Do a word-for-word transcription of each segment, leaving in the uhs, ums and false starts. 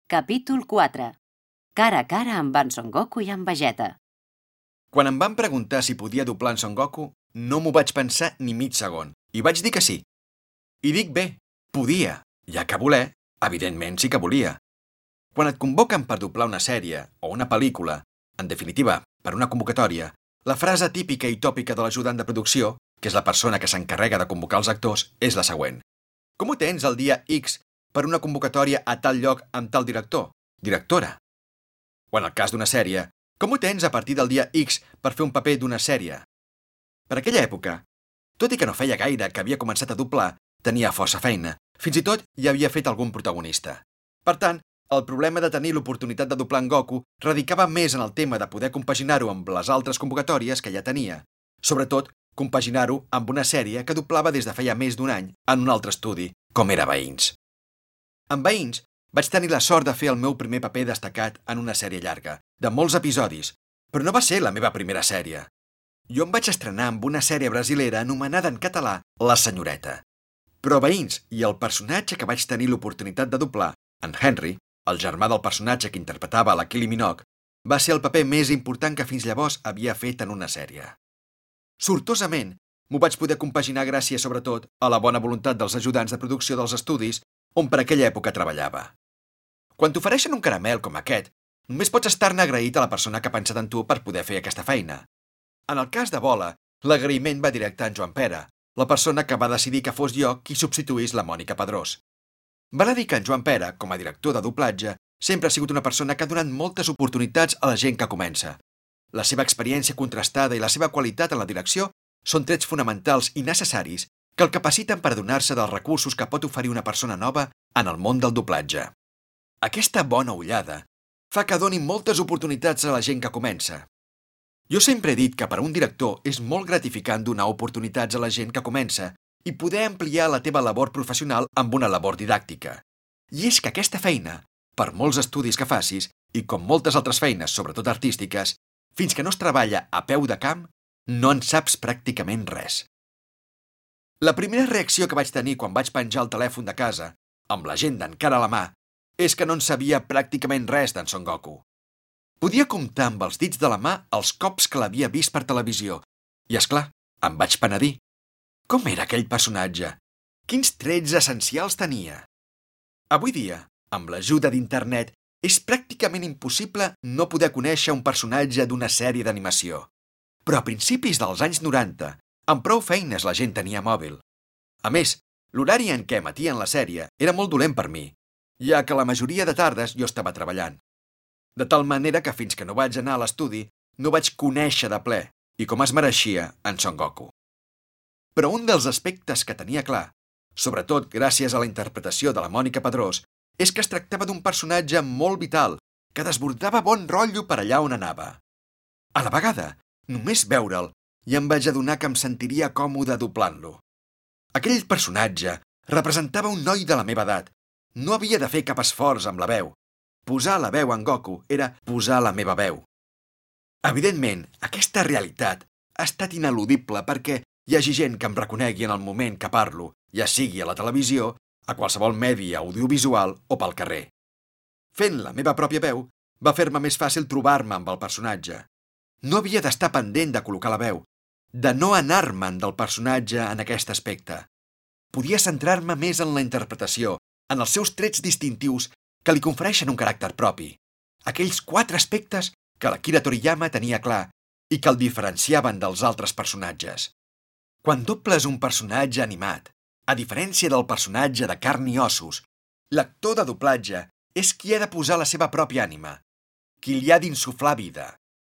Capítol quatre. Cara a cara amb en Son Goku i en Vegeta. Quan em van preguntar si podia doblar en Son Goku, no m'ho vaig pensar ni mig segon, i vaig dir que sí. I dic bé, podia, ja que voler, evidentment sí que volia. Quan et convoquen per doblar una sèrie o una pel·lícula, en definitiva, per una convocatòria, la frase típica i tòpica de l'ajudant de producció, que és la persona que s'encarrega de convocar els actors, és la següent. Com ho tens el dia X per una convocatòria a tal lloc amb tal director, directora? O en el cas d'una sèrie, com ho tens a partir del dia X per fer un paper d'una sèrie? Per aquella època, tot i que no feia gaire que havia començat a doblar, tenia força feina, fins i tot hi havia fet algun protagonista. Per tant, el problema de tenir l'oportunitat de doblar en Goku radicava més en el tema de poder compaginar-ho amb les altres convocatòries que ja tenia, sobretot compaginar-ho amb una sèrie que doblava des de feia més d'un any en un altre estudi, com era Veïns. En Veïns vaig tenir la sort de fer el meu primer paper destacat en una sèrie llarga, de molts episodis, però no va ser la meva primera sèrie. Jo em vaig estrenar amb una sèrie brasilera anomenada en català La Senyoreta. Però Veïns i el personatge que vaig tenir l'oportunitat de doblar, en Henry, el germà del personatge que interpretava la Kylie Minogue, va ser el paper més important que fins llavors havia fet en una sèrie. Sortosament, m'ho vaig poder compaginar gràcies, sobretot, a la bona voluntat dels ajudants de producció dels estudis on per aquella època treballava. Quan t'ofereixen un caramel com aquest, només pots estar-ne agraït a la persona que ha pensat en tu per poder fer aquesta feina. En el cas de Bola, l'agraïment va directe a en Joan Pere, la persona que va decidir que fos jo qui substituís la Mònica Padrós. Val a dir que en Joan Pere, com a director de doblatge, sempre ha sigut una persona que ha donat moltes oportunitats a la gent que comença. La seva experiència contrastada i la seva qualitat en la direcció són trets fonamentals i necessaris que el capaciten per adonar-se dels recursos que pot oferir una persona nova en el món del doblatge. Aquesta bona ullada fa que doni moltes oportunitats a la gent que comença. Jo sempre he dit que per a un director és molt gratificant donar oportunitats a la gent que comença i poder ampliar la teva labor professional amb una labor didàctica. I és que aquesta feina, per molts estudis que facis, i com moltes altres feines, sobretot artístiques, fins que no es treballa a peu de camp, no en saps pràcticament res. La primera reacció que vaig tenir quan vaig penjar el telèfon de casa, amb l'agenda encara a la mà, és que no en sabia pràcticament res d'en Son Goku. Podia comptar amb els dits de la mà els cops que l'havia vist per televisió, i, és clar, em vaig penedir. Com era aquell personatge? Quins trets essencials tenia? Avui dia, amb l'ajuda d'internet, és pràcticament impossible no poder conèixer un personatge d'una sèrie d'animació. Però a principis dels anys noranta, amb prou feines la gent tenia mòbil. A més, l'horari en què emetien la sèrie era molt dolent per mi, ja que la majoria de tardes jo estava treballant. De tal manera que fins que no vaig anar a l'estudi no vaig conèixer de ple, i com es mereixia, en Son Goku. Però un dels aspectes que tenia clar, sobretot gràcies a la interpretació de la Mònica Padrós, és que es tractava d'un personatge molt vital, que desbordava bon rotllo per allà on anava. A la vegada, només veure'l, i em vaig adonar que em sentiria còmode doblant-lo. Aquell personatge representava un noi de la meva edat. No havia de fer cap esforç amb la veu. Posar la veu en Goku era posar la meva veu. Evidentment, aquesta realitat ha estat ineludible perquè hi hagi gent que em reconegui en el moment que parlo, ja sigui a la televisió, a qualsevol medi audiovisual o pel carrer. Fent la meva pròpia veu, va fer-me més fàcil trobar-me amb el personatge. No havia d'estar pendent de col·locar la veu, de no anar-me'n del personatge en aquest aspecte. Podia centrar-me més en la interpretació, en els seus trets distintius que li confereixen un caràcter propi, aquells quatre aspectes que l'Akira Toriyama tenia clar i que el diferenciaven dels altres personatges. Quan dobles un personatge animat, a diferència del personatge de carn i ossos, l'actor de doblatge és qui ha de posar la seva pròpia ànima, qui li ha d'insuflar vida.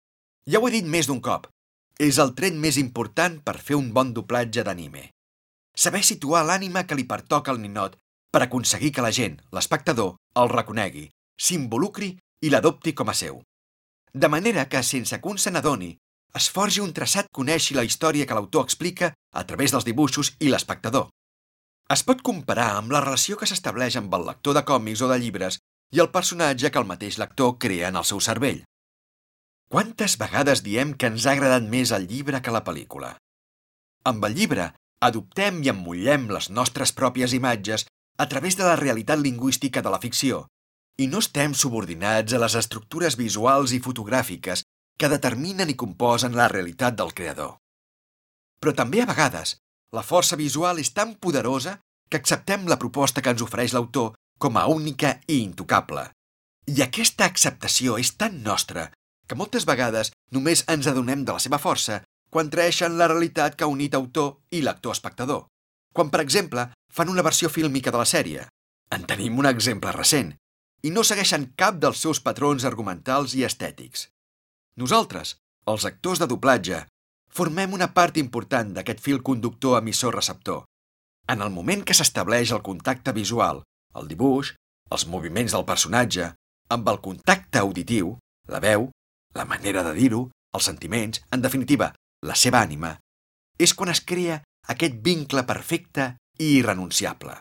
Ja ho he dit més d'un cop, és el tret més important per fer un bon doblatge d'anime. Saber situar l'ànima que li pertoca al ninot per aconseguir que la gent, l'espectador, el reconegui, s'involucri i l'adopti com a seu. De manera que, sense que un se n'adoni, es forgi un traçat que coneixi la història que l'autor explica a través dels dibuixos i l'espectador. Es pot comparar amb la relació que s'estableix amb el lector de còmics o de llibres i el personatge que el mateix lector crea en el seu cervell. Quantes vegades diem que ens ha agradat més el llibre que la pel·lícula? Amb el llibre, adoptem i emmollem les nostres pròpies imatges a través de la realitat lingüística de la ficció, I no estem subordinats a les estructures visuals i fotogràfiques que determinen i composen la realitat del creador. Però també a vegades la força visual és tan poderosa que acceptem la proposta que ens ofereix l'autor com a única i intocable. I aquesta acceptació és tan nostra que moltes vegades només ens adonem de la seva força quan traeixen la realitat que ha unit autor i lector espectador. Quan, per exemple, fan una versió fílmica de la sèrie. En tenim un exemple recent, i no segueixen cap dels seus patrons argumentals i estètics. Nosaltres, els actors de doblatge, formem una part important d'aquest fil conductor emissor-receptor. En el moment que s'estableix el contacte visual, el dibuix, els moviments del personatge, amb el contacte auditiu, la veu, la manera de dir-ho, els sentiments, en definitiva, la seva ànima, és quan es crea aquest vincle perfecte i irrenunciable.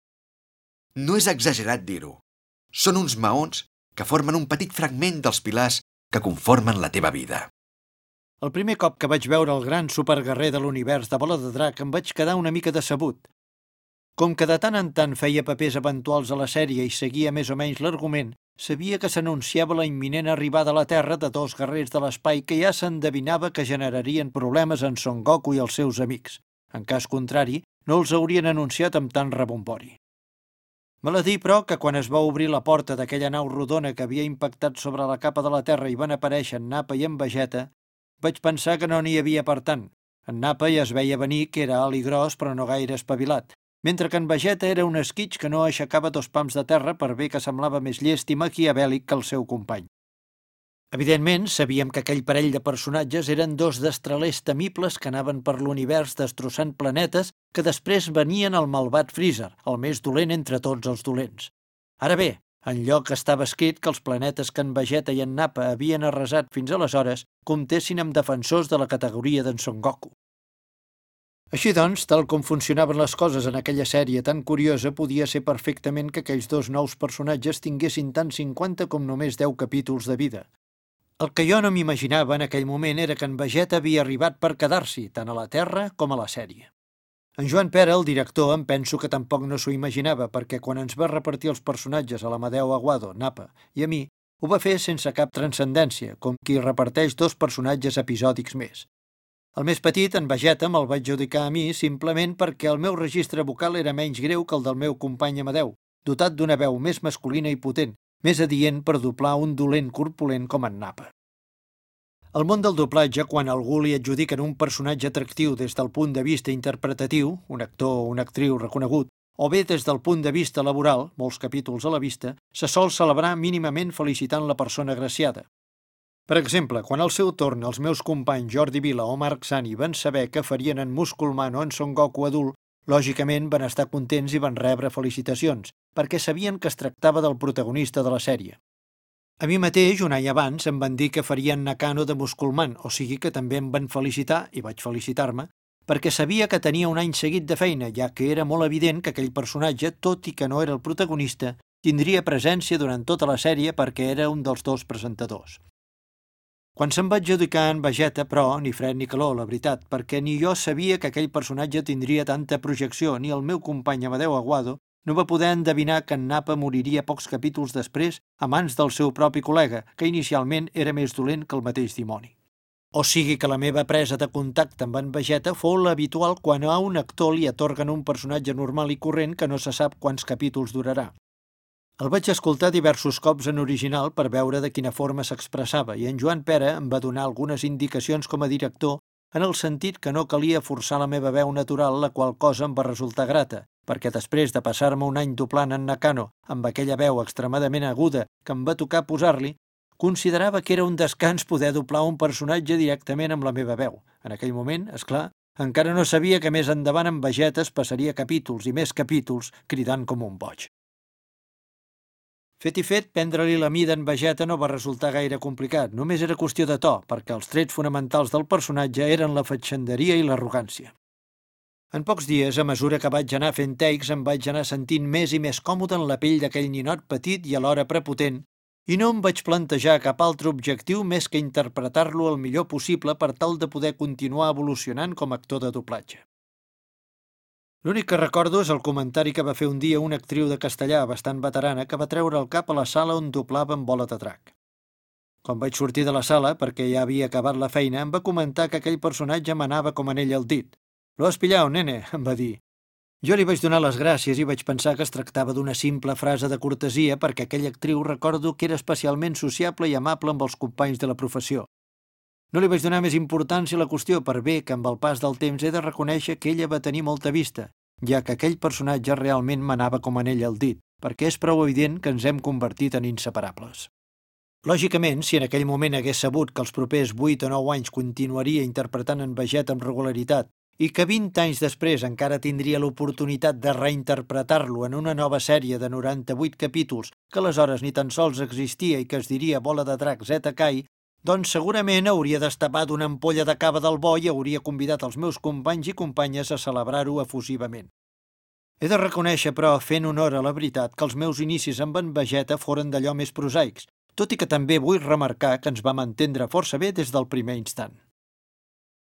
No és exagerat dir-ho. Són uns maons que formen un petit fragment dels pilars que conformen la teva vida. El primer cop que vaig veure el gran superguerrer de l'univers de Bola de Drac em vaig quedar una mica decebut. Com que de tant en tant feia papers eventuals a la sèrie i seguia més o menys l'argument, sabia que s'anunciava la imminent arribada a la Terra de dos guerrers de l'espai que ja s'endevinava que generarien problemes en Son Goku i els seus amics. En cas contrari, no els haurien anunciat amb tant rebombori. Val a dir, però, que quan es va obrir la porta d'aquella nau rodona que havia impactat sobre la capa de la Terra i van aparèixer en Nappa i en Vegeta, vaig pensar que no n'hi havia per tant. En Nappa ja es veia venir que era alt i gros però no gaire espavilat, mentre que en Vegeta era un esquitx que no aixecava dos pams de terra per bé que semblava més llest i maquiavèlic que el seu company. Evidentment, sabíem que aquell parell de personatges eren dos destralers temibles que anaven per l'univers destrossant planetes que després venien al malvat Freezer, el més dolent entre tots els dolents. Ara bé, enlloc estava escrit que els planetes que en Vegeta i en Nappa havien arrasat fins aleshores comptessin amb defensors de la categoria d'en Son Goku. Així doncs, tal com funcionaven les coses en aquella sèrie tan curiosa, podia ser perfectament que aquells dos nous personatges tinguessin tant cinquanta com només deu capítols de vida. El que jo no m'imaginava en aquell moment era que en Vegeta havia arribat per quedar-s'hi, tant a la Terra com a la sèrie. En Joan Pera, el director, em penso que tampoc no s'ho imaginava, perquè quan ens va repartir els personatges a l'Amadeu Aguado, Nappa i a mi, ho va fer sense cap transcendència, com qui reparteix dos personatges episòdics més. El més petit, en Vegeta, me'l vaig adjudicar a mi simplement perquè el meu registre vocal era menys greu que el del meu company Amadeu, dotat d'una veu més masculina i potent, més adient per doblar un dolent corpulent com en Nappa. Al món del doblatge, quan a algú li adjudiquen un personatge atractiu des del punt de vista interpretatiu, un actor o una actriu reconegut, o bé des del punt de vista laboral, molts capítols a la vista, se sol celebrar mínimament felicitant la persona agraciada. Per exemple, quan al seu torn els meus companys Jordi Vila o Marc Sani van saber que farien en Musculman o en Son Goku adult, lògicament van estar contents i van rebre felicitacions, perquè sabien que es tractava del protagonista de la sèrie. A mi mateix, un any abans, em van dir que farien Nakano de Musculman, o sigui que també em van felicitar, i vaig felicitar-me, perquè sabia que tenia un any seguit de feina, ja que era molt evident que aquell personatge, tot i que no era el protagonista, tindria presència durant tota la sèrie perquè era un dels dos presentadors. Quan se'm va adjudicar en Vegeta, però, ni fred ni calor, la veritat, perquè ni jo sabia que aquell personatge tindria tanta projecció, ni el meu company Amadeu Aguado no va poder endevinar que en Nappa moriria pocs capítols després a mans del seu propi col·lega, que inicialment era més dolent que el mateix dimoni. O sigui que la meva presa de contacte amb en Vegeta fou l'habitual quan a un actor li atorguen un personatge normal i corrent que no se sap quants capítols durarà. El vaig escoltar diversos cops en original per veure de quina forma s'expressava i en Joan Pera em va donar algunes indicacions com a director en el sentit que no calia forçar la meva veu natural, la qual cosa em va resultar grata, perquè després de passar-me un any doblant en Nakano amb aquella veu extremadament aguda que em va tocar posar-li, considerava que era un descans poder doblar un personatge directament amb la meva veu. En aquell moment, és clar, encara no sabia que més endavant en Vegeta es passaria capítols i més capítols cridant com un boig. Fet i fet, prendre-li la mida en Vegeta no va resultar gaire complicat, només era qüestió de to, perquè els trets fonamentals del personatge eren la fatxenderia i l'arrogància. En pocs dies, a mesura que vaig anar fent takes, em vaig anar sentint més i més còmode en la pell d'aquell ninot petit i alhora prepotent, i no em vaig plantejar cap altre objectiu més que interpretar-lo el millor possible per tal de poder continuar evolucionant com a actor de doblatge. L'únic que recordo és el comentari que va fer un dia una actriu de castellà bastant veterana que va treure el cap a la sala on doblava en Bola de Drac. Quan vaig sortir de la sala, perquè ja havia acabat la feina, em va comentar que aquell personatge manava com en ell el dit. «Lo has pillado, nene», em va dir. Jo li vaig donar les gràcies i vaig pensar que es tractava d'una simple frase de cortesia perquè aquella actriu recordo que era especialment sociable i amable amb els companys de la professió. No li vaig donar més importància a la qüestió per bé que amb el pas del temps he de reconèixer que ella va tenir molta vista, ja que aquell personatge realment manava com en ell el dit, perquè és prou evident que ens hem convertit en inseparables. Lògicament, si en aquell moment hagués sabut que els propers vuit o nou anys continuaria interpretant en Vegeta amb regularitat i que vint anys després encara tindria l'oportunitat de reinterpretar-lo en una nova sèrie de noranta-vuit capítols que aleshores ni tan sols existia i que es diria Bola de Drac Zeta Kai, doncs segurament hauria destapat d'una ampolla de cava del bo i hauria convidat els meus companys i companyes a celebrar-ho efusivament. He de reconèixer, però, fent honor a la veritat, que els meus inicis amb en Vegeta foren d'allò més prosaics, tot i que també vull remarcar que ens vam entendre força bé des del primer instant.